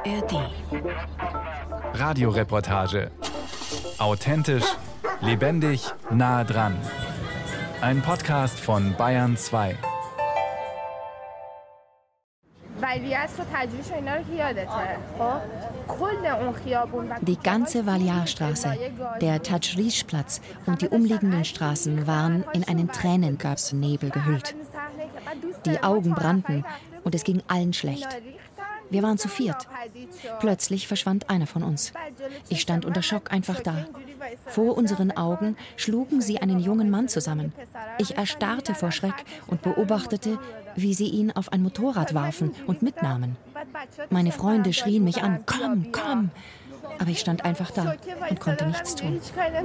ARD. Radioreportage. Authentisch, lebendig, nah dran. Ein Podcast von Bayern 2. Die ganze Valjar-Straße, der Tajrish-Platz und die umliegenden Straßen waren in einen Tränengasnebel gehüllt. Die Augen brannten und es ging allen schlecht. Wir waren zu viert. Plötzlich verschwand einer von uns. Ich stand unter Schock einfach da. Vor unseren Augen schlugen sie einen jungen Mann zusammen. Ich erstarrte vor Schreck und beobachtete, wie sie ihn auf ein Motorrad warfen und mitnahmen. Meine Freunde schrien mich an, komm, komm! Aber ich stand einfach da und konnte nichts tun.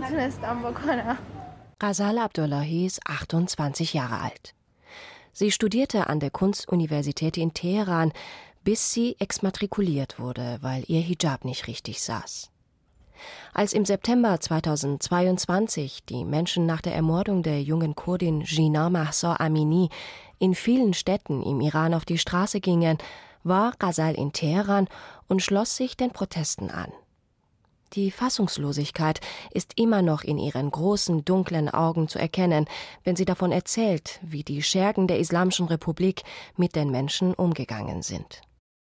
Ghazal Abdullahi ist 28 Jahre alt. Sie studierte an der Kunstuniversität in Teheran, bis sie exmatrikuliert wurde, weil ihr Hijab nicht richtig saß. Als im September 2022 die Menschen nach der Ermordung der jungen Kurdin Jina Mahsa Amini in vielen Städten im Iran auf die Straße gingen, war Ghazal in Teheran und schloss sich den Protesten an. Die Fassungslosigkeit ist immer noch in ihren großen, dunklen Augen zu erkennen, wenn sie davon erzählt, wie die Schergen der Islamischen Republik mit den Menschen umgegangen sind.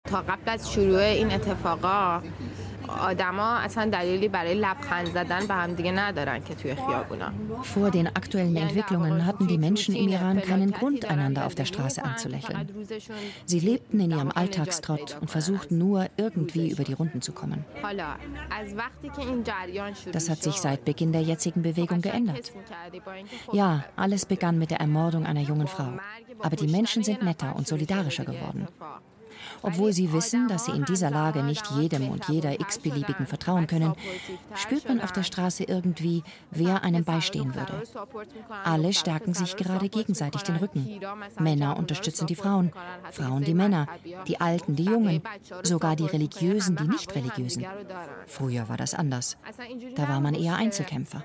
Vor den aktuellen Entwicklungen hatten die Menschen im Iran keinen Grund, einander auf der Straße anzulächeln. Sie lebten in ihrem Alltagstrott und versuchten nur, irgendwie über die Runden zu kommen. Das hat sich seit Beginn der jetzigen Bewegung geändert. Ja, alles begann mit der Ermordung einer jungen Frau. Aber die Menschen sind netter und solidarischer geworden. Obwohl sie wissen, dass sie in dieser Lage nicht jedem und jeder x-beliebigen vertrauen können, spürt man auf der Straße irgendwie, wer einem beistehen würde. Alle stärken sich gerade gegenseitig den Rücken. Männer unterstützen die Frauen, Frauen die Männer, die Alten die Jungen, sogar die Religiösen die Nicht-Religiösen. Früher war das anders. Da war man eher Einzelkämpfer.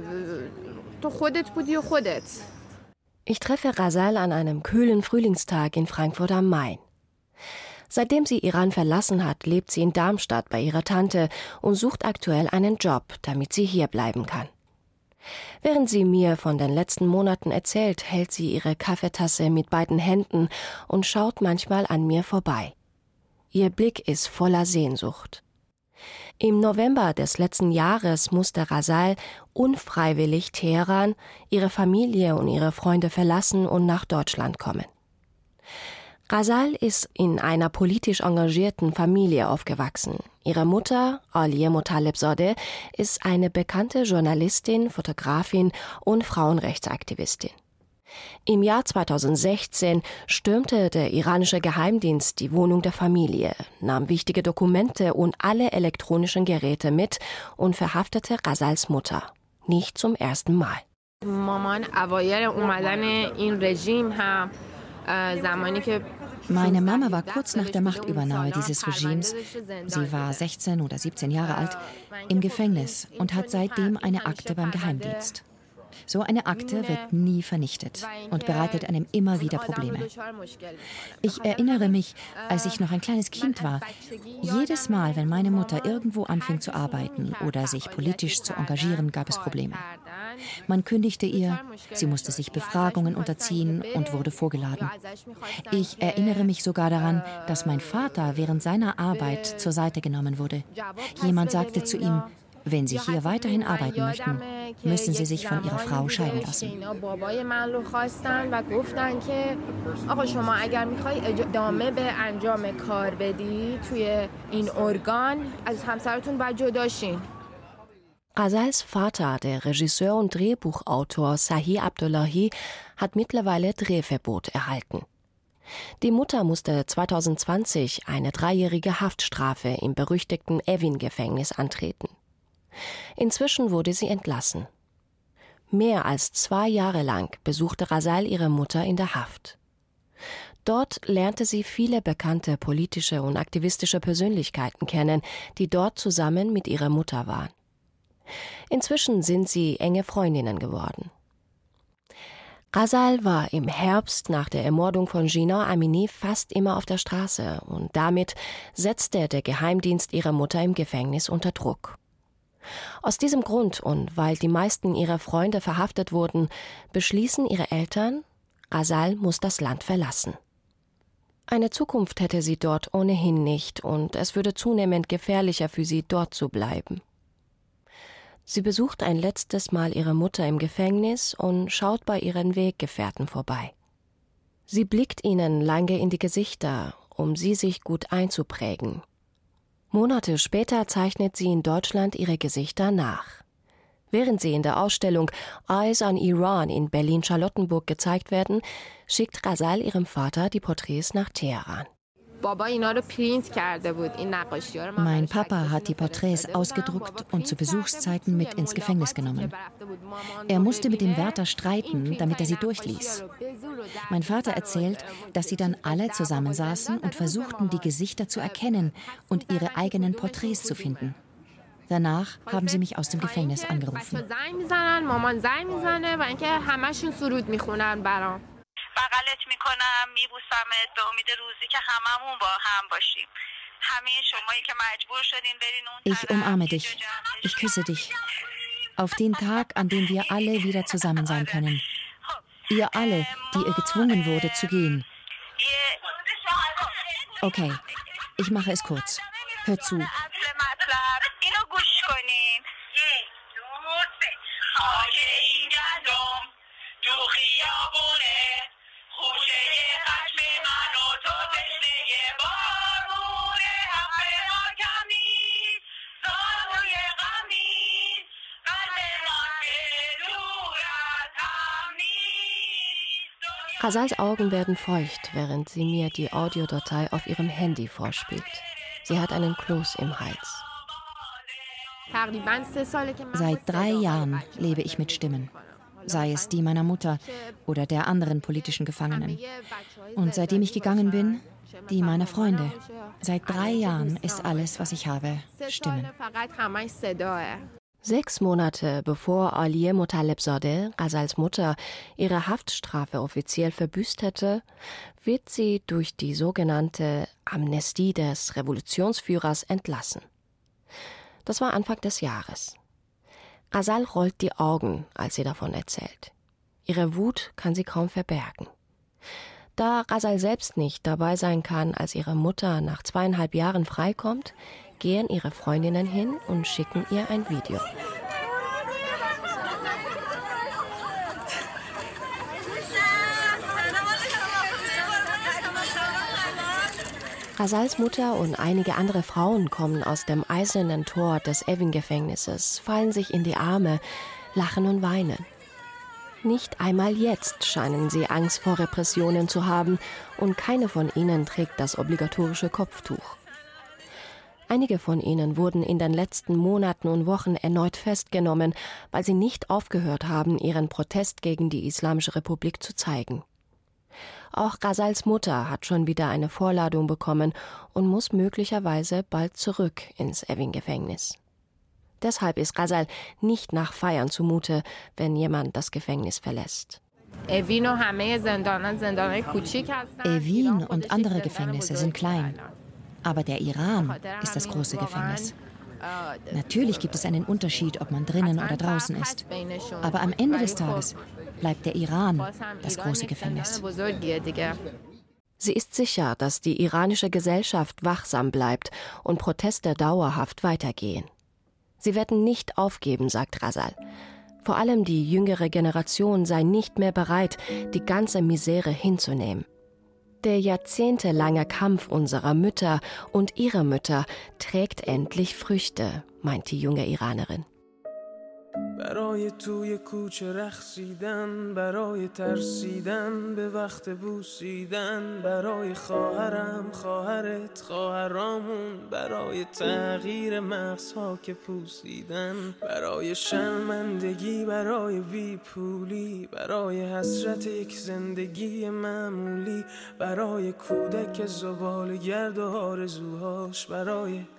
Ich treffe Ghazal an einem kühlen Frühlingstag in Frankfurt am Main. Seitdem sie Iran verlassen hat, lebt sie in Darmstadt bei ihrer Tante und sucht aktuell einen Job, damit sie hier bleiben kann. Während sie mir von den letzten Monaten erzählt, hält sie ihre Kaffeetasse mit beiden Händen und schaut manchmal an mir vorbei. Ihr Blick ist voller Sehnsucht. Im November des letzten Jahres musste Ghazal unfreiwillig Teheran, ihre Familie und ihre Freunde verlassen und nach Deutschland kommen. Ghazal ist in einer politisch engagierten Familie aufgewachsen. Ihre Mutter, Alia Motalebzadeh, ist eine bekannte Journalistin, Fotografin und Frauenrechtsaktivistin. Im Jahr 2016 stürmte der iranische Geheimdienst die Wohnung der Familie, nahm wichtige Dokumente und alle elektronischen Geräte mit und verhaftete Ghazals Mutter. Nicht zum ersten Mal. Meine Mama war kurz nach der Machtübernahme dieses Regimes, sie war 16 oder 17 Jahre alt, im Gefängnis und hat seitdem eine Akte beim Geheimdienst. So eine Akte wird nie vernichtet und bereitet einem immer wieder Probleme. Ich erinnere mich, als ich noch ein kleines Kind war, jedes Mal, wenn meine Mutter irgendwo anfing zu arbeiten oder sich politisch zu engagieren, gab es Probleme. Man kündigte ihr, sie musste sich Befragungen unterziehen und wurde vorgeladen. Ich erinnere mich sogar daran, dass mein Vater während seiner Arbeit zur Seite genommen wurde. Jemand sagte zu ihm, wenn Sie hier weiterhin arbeiten möchten, müssen Sie sich von Ihrer Frau scheiden lassen. Ghazals Vater, der Regisseur und Drehbuchautor Sahi Abdullahi, hat mittlerweile Drehverbot erhalten. Die Mutter musste 2020 eine 3-jährige Haftstrafe im berüchtigten Evin-Gefängnis antreten. Inzwischen wurde sie entlassen. Mehr als 2 Jahre lang besuchte Ghazal ihre Mutter in der Haft. Dort lernte sie viele bekannte politische und aktivistische Persönlichkeiten kennen, die dort zusammen mit ihrer Mutter waren. Inzwischen sind sie enge Freundinnen geworden. Ghazal war im Herbst nach der Ermordung von Jinan Amini fast immer auf der Straße und damit setzte der Geheimdienst ihrer Mutter im Gefängnis unter Druck. Aus diesem Grund und weil die meisten ihrer Freunde verhaftet wurden, beschließen ihre Eltern, Ghazal muss das Land verlassen. Eine Zukunft hätte sie dort ohnehin nicht und es würde zunehmend gefährlicher für sie, dort zu bleiben. Sie besucht ein letztes Mal ihre Mutter im Gefängnis und schaut bei ihren Weggefährten vorbei. Sie blickt ihnen lange in die Gesichter, um sie sich gut einzuprägen. Monate später zeichnet sie in Deutschland ihre Gesichter nach. Während sie in der Ausstellung Eyes on Iran in Berlin-Charlottenburg gezeigt werden, schickt Ghazal ihrem Vater die Porträts nach Teheran. Mein Papa hat die Porträts ausgedruckt und zu Besuchszeiten mit ins Gefängnis genommen. Er musste mit dem Wärter streiten, damit er sie durchließ. Mein Vater erzählt, dass sie dann alle zusammensaßen und versuchten, die Gesichter zu erkennen und ihre eigenen Porträts zu finden. Danach haben sie mich aus dem Gefängnis angerufen. Ich umarme dich. Ich küsse dich. Auf den Tag, an dem wir alle wieder zusammen sein können. Ihr alle, die ihr gezwungen wurde zu gehen. Okay, ich mache es kurz. Hört zu. Ghazals Augen werden feucht, während sie mir die Audiodatei auf ihrem Handy vorspielt. Sie hat einen Kloß im Hals. Seit 3 Jahren lebe ich mit Stimmen, sei es die meiner Mutter oder der anderen politischen Gefangenen. Und seitdem ich gegangen bin, die meiner Freunde. Seit 3 Jahren ist alles, was ich habe, Stimmen. 6 Monate bevor Aliye Motalebzadeh, Ghazals Mutter, ihre Haftstrafe offiziell verbüßt hätte, wird sie durch die sogenannte Amnestie des Revolutionsführers entlassen. Das war Anfang des Jahres. Ghazal rollt die Augen, als sie davon erzählt. Ihre Wut kann sie kaum verbergen. Da Ghazal selbst nicht dabei sein kann, als ihre Mutter nach 2,5 Jahren freikommt, gehen ihre Freundinnen hin und schicken ihr ein Video. Ghazals Mutter und einige andere Frauen kommen aus dem eisernen Tor des Evin-Gefängnisses, fallen sich in die Arme, lachen und weinen. Nicht einmal jetzt scheinen sie Angst vor Repressionen zu haben und keine von ihnen trägt das obligatorische Kopftuch. Einige von ihnen wurden in den letzten Monaten und Wochen erneut festgenommen, weil sie nicht aufgehört haben, ihren Protest gegen die Islamische Republik zu zeigen. Auch Ghazals Mutter hat schon wieder eine Vorladung bekommen und muss möglicherweise bald zurück ins Evin-Gefängnis. Deshalb ist Ghazal nicht nach Feiern zumute, wenn jemand das Gefängnis verlässt. Evin und andere Gefängnisse sind klein. Aber der Iran ist das große Gefängnis. Natürlich gibt es einen Unterschied, ob man drinnen oder draußen ist. Aber am Ende des Tages bleibt der Iran das große Gefängnis. Sie ist sicher, dass die iranische Gesellschaft wachsam bleibt und Proteste dauerhaft weitergehen. Sie werden nicht aufgeben, sagt Ghazal. Vor allem die jüngere Generation sei nicht mehr bereit, die ganze Misere hinzunehmen. Der jahrzehntelange Kampf unserer Mütter und ihrer Mütter trägt endlich Früchte, meint die junge Iranerin. برای توی کوچه رقصیدن برای ترسیدن به وقت بوسیدن برای خواهرم خواهرت خواهرامون برای تغییر مغزها که پوسیدن برای شرمندگی برای بیپولی برای حسرت یک زندگی معمولی برای کودک زباله‌گرد و آرزوهاش برای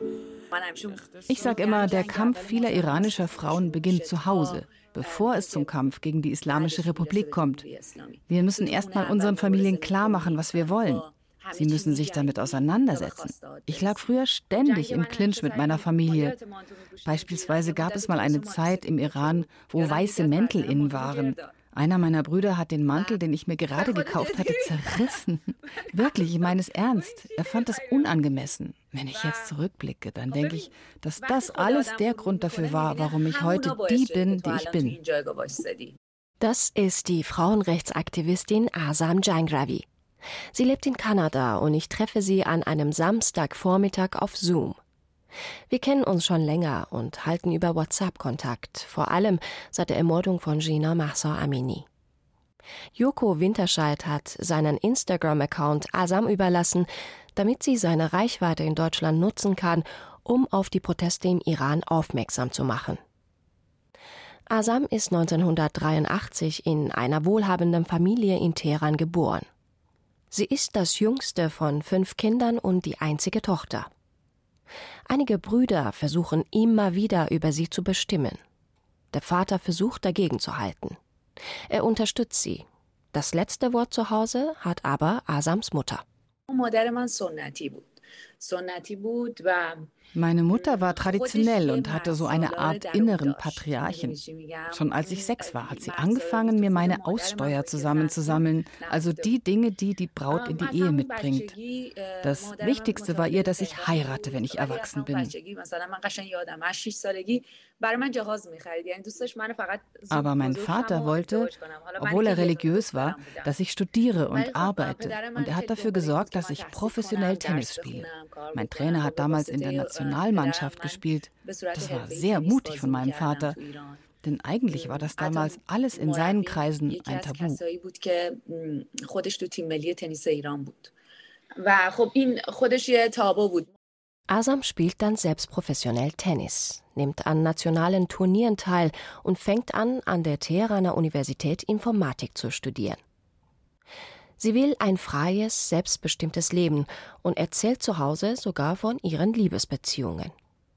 Ich sage immer, der Kampf vieler iranischer Frauen beginnt zu Hause, bevor es zum Kampf gegen die Islamische Republik kommt. Wir müssen erst mal unseren Familien klar machen, was wir wollen. Sie müssen sich damit auseinandersetzen. Ich lag früher ständig im Clinch mit meiner Familie. Beispielsweise gab es mal eine Zeit im Iran, wo weiße Mäntel in waren. Einer meiner Brüder hat den Mantel, den ich mir gerade gekauft hatte, zerrissen. Wirklich, ich meine es ernst. Er fand es unangemessen. Wenn ich jetzt zurückblicke, dann denke ich, dass das alles der Grund dafür war, warum ich heute die bin, die ich bin. Das ist die Frauenrechtsaktivistin Azam Jangravi. Sie lebt in Kanada und ich treffe sie an einem Samstagvormittag auf Zoom. Wir kennen uns schon länger und halten über WhatsApp Kontakt, vor allem seit der Ermordung von Jina Mahsa Amini. Joko Winterscheid hat seinen Instagram-Account Azam überlassen, damit sie seine Reichweite in Deutschland nutzen kann, um auf die Proteste im Iran aufmerksam zu machen. Azam ist 1983 in einer wohlhabenden Familie in Teheran geboren. Sie ist das jüngste von 5 Kindern und die einzige Tochter. Einige Brüder versuchen immer wieder über sie zu bestimmen. Der Vater versucht dagegen zu halten. Er unterstützt sie. Das letzte Wort zu Hause hat aber Azams Mutter. Meine Mutter war traditionell und hatte so eine Art inneren Patriarchen. Schon als ich 6 war, hat sie angefangen, mir meine Aussteuer zusammenzusammeln, also die Dinge, die die Braut in die Ehe mitbringt. Das Wichtigste war ihr, dass ich heirate, wenn ich erwachsen bin. Aber mein Vater wollte, obwohl er religiös war, dass ich studiere und arbeite. Und er hat dafür gesorgt, dass ich professionell Tennis spiele. Mein Trainer hat damals in der Nationalmannschaft gespielt. Das war sehr mutig von meinem Vater. Denn eigentlich war das damals alles in seinen Kreisen ein Tabu. Azam spielt dann selbst professionell Tennis, nimmt an nationalen Turnieren teil und fängt an der Teheraner Universität Informatik zu studieren. Sie will ein freies, selbstbestimmtes Leben und erzählt zu Hause sogar von ihren Liebesbeziehungen.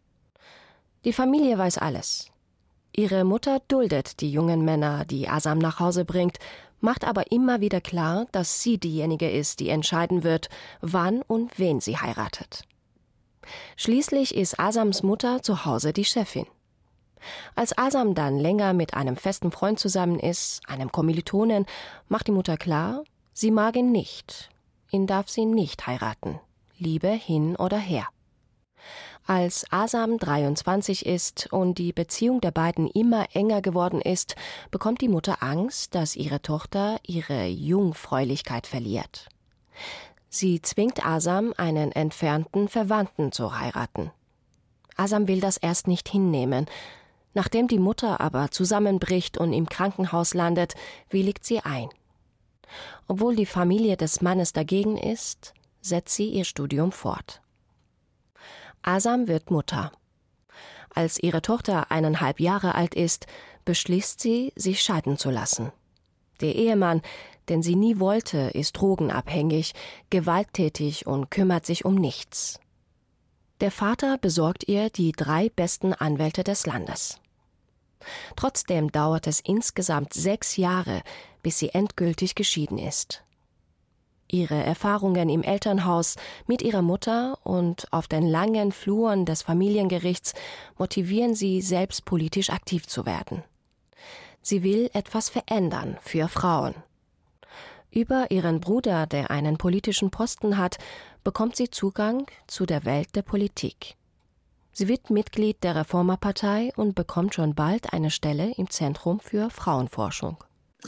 Die Familie weiß alles. Ihre Mutter duldet die jungen Männer, die Azam nach Hause bringt, macht aber immer wieder klar, dass sie diejenige ist, die entscheiden wird, wann und wen sie heiratet. Schließlich ist Azams Mutter zu Hause die Chefin. Als Azam dann länger mit einem festen Freund zusammen ist, einem Kommilitonen, macht die Mutter klar, sie mag ihn nicht. Ihn darf sie nicht heiraten. Liebe hin oder her. Als Azam 23 ist und die Beziehung der beiden immer enger geworden ist, bekommt die Mutter Angst, dass ihre Tochter ihre Jungfräulichkeit verliert. Sie zwingt Azam, einen entfernten Verwandten zu heiraten. Azam will das erst nicht hinnehmen. Nachdem die Mutter aber zusammenbricht und im Krankenhaus landet, willigt sie ein. Obwohl die Familie des Mannes dagegen ist, setzt sie ihr Studium fort. Azam wird Mutter. Als ihre Tochter 1,5 Jahre alt ist, beschließt sie, sich scheiden zu lassen. Der Ehemann, den sie nie wollte, ist drogenabhängig, gewalttätig und kümmert sich um nichts. Der Vater besorgt ihr die 3 besten Anwälte des Landes. Trotzdem dauert es insgesamt 6 Jahre, bis sie endgültig geschieden ist. Ihre Erfahrungen im Elternhaus mit ihrer Mutter und auf den langen Fluren des Familiengerichts motivieren sie, selbst politisch aktiv zu werden. Sie will etwas verändern für Frauen. Über ihren Bruder, der einen politischen Posten hat, bekommt sie Zugang zu der Welt der Politik. Sie wird Mitglied der Reformerpartei und bekommt schon bald eine Stelle im Zentrum für Frauenforschung.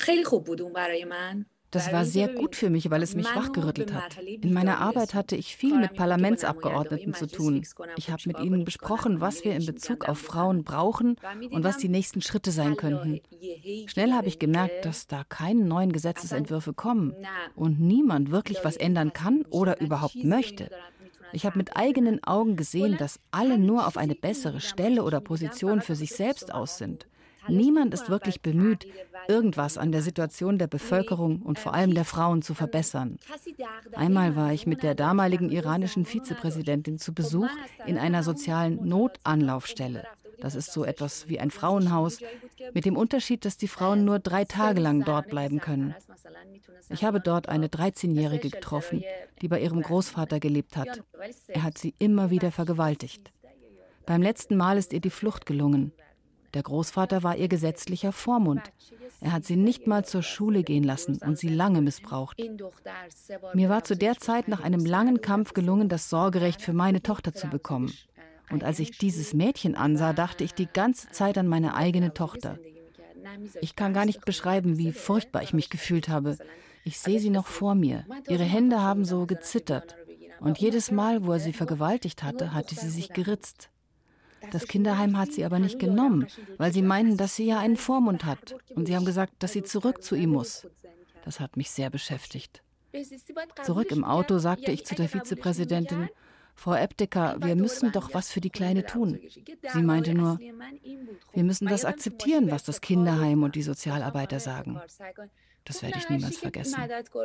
Das war sehr gut für mich, weil es mich wachgerüttelt hat. In meiner Arbeit hatte ich viel mit Parlamentsabgeordneten zu tun. Ich habe mit ihnen besprochen, was wir in Bezug auf Frauen brauchen und was die nächsten Schritte sein könnten. Schnell habe ich gemerkt, dass da keine neuen Gesetzesentwürfe kommen und niemand wirklich was ändern kann oder überhaupt möchte. Ich habe mit eigenen Augen gesehen, dass alle nur auf eine bessere Stelle oder Position für sich selbst aus sind. Niemand ist wirklich bemüht, irgendwas an der Situation der Bevölkerung und vor allem der Frauen zu verbessern. Einmal war ich mit der damaligen iranischen Vizepräsidentin zu Besuch in einer sozialen Notanlaufstelle. Das ist so etwas wie ein Frauenhaus, mit dem Unterschied, dass die Frauen nur 3 Tage lang dort bleiben können. Ich habe dort eine 13-Jährige getroffen, die bei ihrem Großvater gelebt hat. Er hat sie immer wieder vergewaltigt. Beim letzten Mal ist ihr die Flucht gelungen. Der Großvater war ihr gesetzlicher Vormund. Er hat sie nicht mal zur Schule gehen lassen und sie lange missbraucht. Mir war zu der Zeit nach einem langen Kampf gelungen, das Sorgerecht für meine Tochter zu bekommen. Und als ich dieses Mädchen ansah, dachte ich die ganze Zeit an meine eigene Tochter. Ich kann gar nicht beschreiben, wie furchtbar ich mich gefühlt habe. Ich sehe sie noch vor mir. Ihre Hände haben so gezittert. Und jedes Mal, wo er sie vergewaltigt hatte, hatte sie sich geritzt. Das Kinderheim hat sie aber nicht genommen, weil sie meinten, dass sie ja einen Vormund hat. Und sie haben gesagt, dass sie zurück zu ihm muss. Das hat mich sehr beschäftigt. Zurück im Auto sagte ich zu der Vizepräsidentin: Frau Epteker, wir müssen doch was für die Kleine tun. Sie meinte nur, wir müssen das akzeptieren, was das Kinderheim und die Sozialarbeiter sagen. Das werde ich niemals vergessen.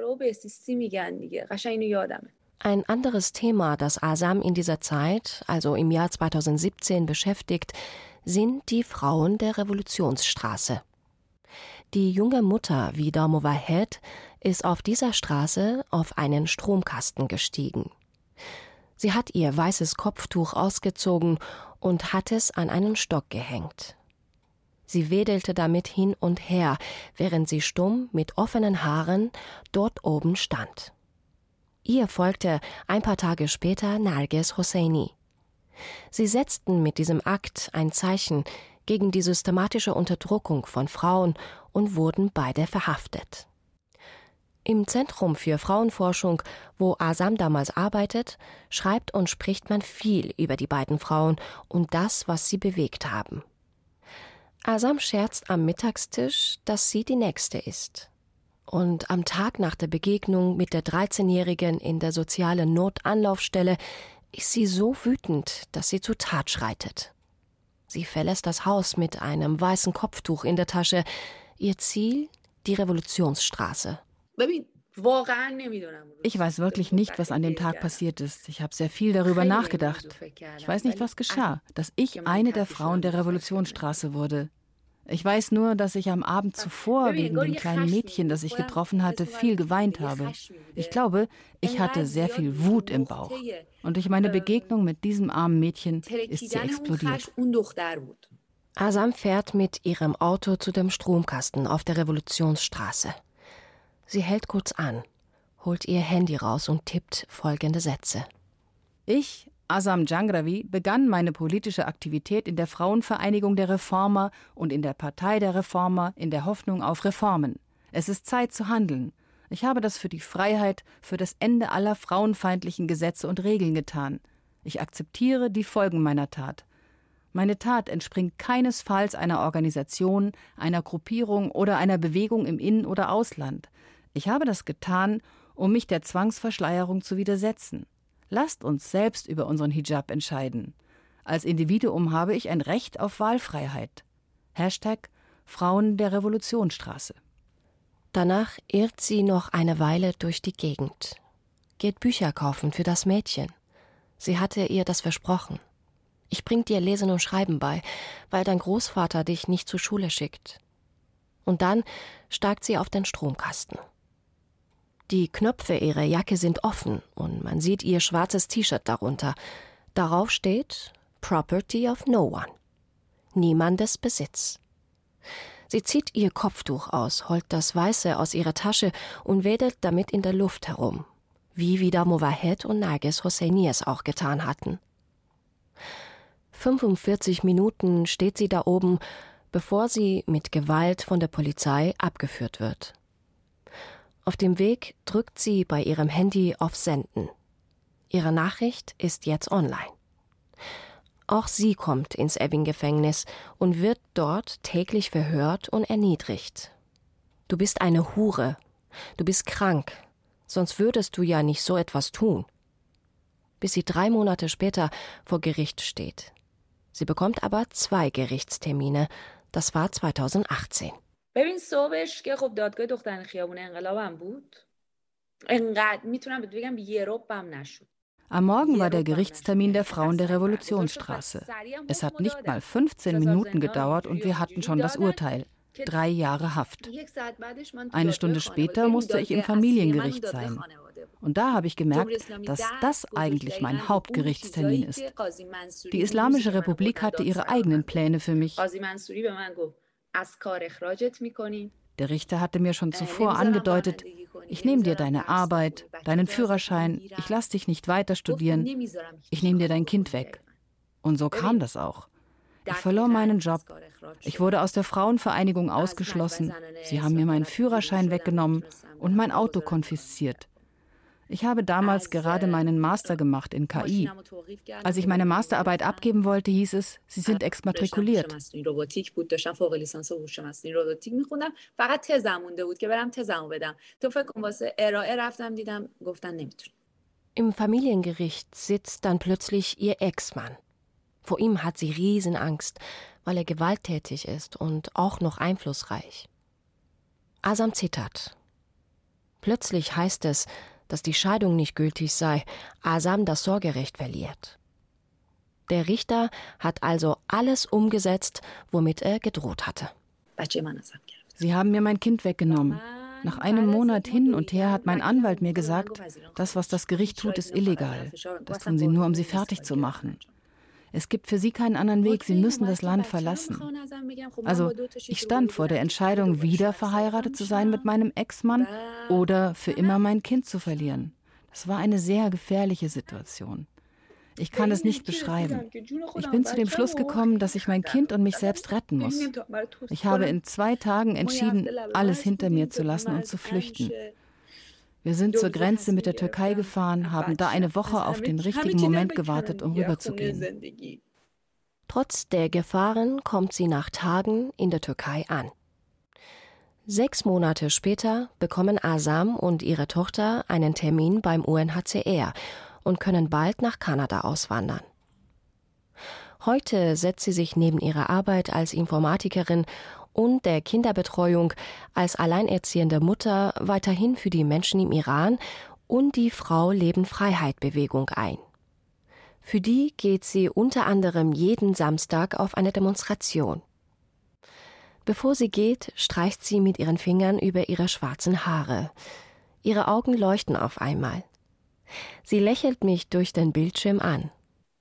Ein anderes Thema, das Azam in dieser Zeit, also im Jahr 2017, beschäftigt, sind die Frauen der Revolutionsstraße. Die junge Mutter Vida Mowahed ist auf dieser Straße auf einen Stromkasten gestiegen. Sie hat ihr weißes Kopftuch ausgezogen und hat es an einen Stock gehängt. Sie wedelte damit hin und her, während sie stumm mit offenen Haaren dort oben stand. Ihr folgte ein paar Tage später Narges Hosseini. Sie setzten mit diesem Akt ein Zeichen gegen die systematische Unterdrückung von Frauen und wurden beide verhaftet. Im Zentrum für Frauenforschung, wo Azam damals arbeitet, schreibt und spricht man viel über die beiden Frauen und das, was sie bewegt haben. Azam scherzt am Mittagstisch, dass sie die Nächste ist. Und am Tag nach der Begegnung mit der 13-Jährigen in der sozialen Notanlaufstelle ist sie so wütend, dass sie zur Tat schreitet. Sie verlässt das Haus mit einem weißen Kopftuch in der Tasche. Ihr Ziel: die Revolutionsstraße. Ich weiß wirklich nicht, was an dem Tag passiert ist. Ich habe sehr viel darüber nachgedacht. Ich weiß nicht, was geschah, dass ich eine der Frauen der Revolutionsstraße wurde. Ich weiß nur, dass ich am Abend zuvor wegen dem kleinen Mädchen, das ich getroffen hatte, viel geweint habe. Ich glaube, ich hatte sehr viel Wut im Bauch. Und durch meine Begegnung mit diesem armen Mädchen ist sie explodiert. Azam fährt mit ihrem Auto zu dem Stromkasten auf der Revolutionsstraße. Sie hält kurz an, holt ihr Handy raus und tippt folgende Sätze. Ich, Azam Jangrawi, begann meine politische Aktivität in der Frauenvereinigung der Reformer und in der Partei der Reformer in der Hoffnung auf Reformen. Es ist Zeit zu handeln. Ich habe das für die Freiheit, für das Ende aller frauenfeindlichen Gesetze und Regeln getan. Ich akzeptiere die Folgen meiner Tat. Meine Tat entspringt keinesfalls einer Organisation, einer Gruppierung oder einer Bewegung im In- oder Ausland. Ich habe das getan, um mich der Zwangsverschleierung zu widersetzen. Lasst uns selbst über unseren Hijab entscheiden. Als Individuum habe ich ein Recht auf Wahlfreiheit. #Frauen der Revolutionsstraße. Danach irrt sie noch eine Weile durch die Gegend. Geht Bücher kaufen für das Mädchen. Sie hatte ihr das versprochen. Ich bring dir Lesen und Schreiben bei, weil dein Großvater dich nicht zur Schule schickt. Und dann steigt sie auf den Stromkasten. Die Knöpfe ihrer Jacke sind offen und man sieht ihr schwarzes T-Shirt darunter. Darauf steht Property of no one. Niemandes Besitz. Sie zieht ihr Kopftuch aus, holt das Weiße aus ihrer Tasche und wedelt damit in der Luft herum, wie Vida Mowahed und Narges Hosseini es auch getan hatten. 45 Minuten steht sie da oben, bevor sie mit Gewalt von der Polizei abgeführt wird. Auf dem Weg drückt sie bei ihrem Handy auf Senden. Ihre Nachricht ist jetzt online. Auch sie kommt ins Evin-Gefängnis und wird dort täglich verhört und erniedrigt. Du bist eine Hure. Du bist krank. Sonst würdest du ja nicht so etwas tun. Bis sie 3 Monate später vor Gericht steht. Sie bekommt aber 2 Gerichtstermine. Das war 2018. ببین صبحش که خب دادگاه دختران خیابون انقلابم بود. انقدر میتونم بگم یه ربم نشد. Am Morgen war der Gerichtstermin der Frauen der Revolutionsstraße. Es hat nicht mal 15 Minuten gedauert und wir hatten schon das Urteil. 3 Jahre Haft. Eine Stunde später musste ich im Familiengericht sein. Und da habe ich gemerkt, dass das eigentlich mein Hauptgerichtstermin ist. Die Islamische Republik hatte ihre eigenen Pläne für mich. Der Richter hatte mir schon zuvor angedeutet, ich nehme dir deine Arbeit, deinen Führerschein, ich lasse dich nicht weiter studieren, ich nehme dir dein Kind weg. Und so kam das auch. Ich verlor meinen Job. Ich wurde aus der Frauenvereinigung ausgeschlossen. Sie haben mir meinen Führerschein weggenommen und mein Auto konfisziert. Ich habe damals gerade meinen Master gemacht in KI. Als ich meine Masterarbeit abgeben wollte, hieß es, sie sind exmatrikuliert. Im Familiengericht sitzt dann plötzlich ihr Ex-Mann. Vor ihm hat sie Riesenangst, weil er gewalttätig ist und auch noch einflussreich. Azam zittert. Plötzlich heißt es, dass die Scheidung nicht gültig sei, Azam das Sorgerecht verliert. Der Richter hat also alles umgesetzt, womit er gedroht hatte. Sie haben mir mein Kind weggenommen. Nach einem Monat hin und her hat mein Anwalt mir gesagt, das, was das Gericht tut, ist illegal. Das tun sie nur, um sie fertig zu machen. Es gibt für sie keinen anderen Weg, sie müssen das Land verlassen. Also ich stand vor der Entscheidung, wieder verheiratet zu sein mit meinem Ex-Mann oder für immer mein Kind zu verlieren. Das war eine sehr gefährliche Situation. Ich kann es nicht beschreiben. Ich bin zu dem Schluss gekommen, dass ich mein Kind und mich selbst retten muss. Ich habe in 2 Tagen entschieden, alles hinter mir zu lassen und zu flüchten. Wir sind zur Grenze mit der Türkei gefahren, haben da eine Woche auf den richtigen Moment gewartet, um rüberzugehen. Trotz der Gefahren kommt sie nach Tagen in der Türkei an. 6 Monate später bekommen Azam und ihre Tochter einen Termin beim UNHCR und können bald nach Kanada auswandern. Heute setzt sie sich neben ihrer Arbeit als Informatikerin und der Kinderbetreuung als alleinerziehende Mutter weiterhin für die Menschen im Iran und die Frau-Leben-Freiheit-Bewegung ein. Für die geht sie unter anderem jeden Samstag auf eine Demonstration. Bevor sie geht, streicht sie mit ihren Fingern über ihre schwarzen Haare. Ihre Augen leuchten auf einmal. Sie lächelt mich durch den Bildschirm an.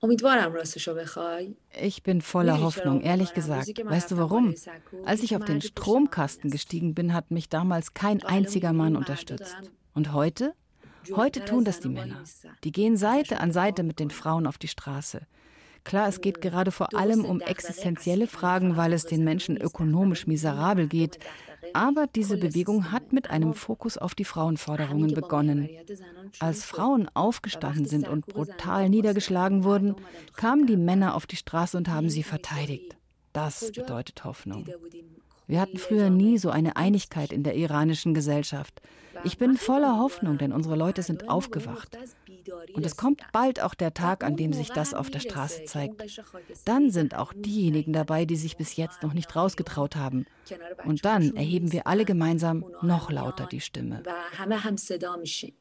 Ich bin voller Hoffnung, ehrlich gesagt. Weißt du warum? Als ich auf den Stromkasten gestiegen bin, hat mich damals kein einziger Mann unterstützt. Und heute? Heute tun das die Männer. Die gehen Seite an Seite mit den Frauen auf die Straße. Klar, es geht gerade vor allem um existenzielle Fragen, weil es den Menschen ökonomisch miserabel geht. Aber diese Bewegung hat mit einem Fokus auf die Frauenforderungen begonnen. Als Frauen aufgestanden sind und brutal niedergeschlagen wurden, kamen die Männer auf die Straße und haben sie verteidigt. Das bedeutet Hoffnung. Wir hatten früher nie so eine Einigkeit in der iranischen Gesellschaft. Ich bin voller Hoffnung, denn unsere Leute sind aufgewacht. Und es kommt bald auch der Tag, an dem sich das auf der Straße zeigt. Dann sind auch diejenigen dabei, die sich bis jetzt noch nicht rausgetraut haben. Und dann erheben wir alle gemeinsam noch lauter die Stimme.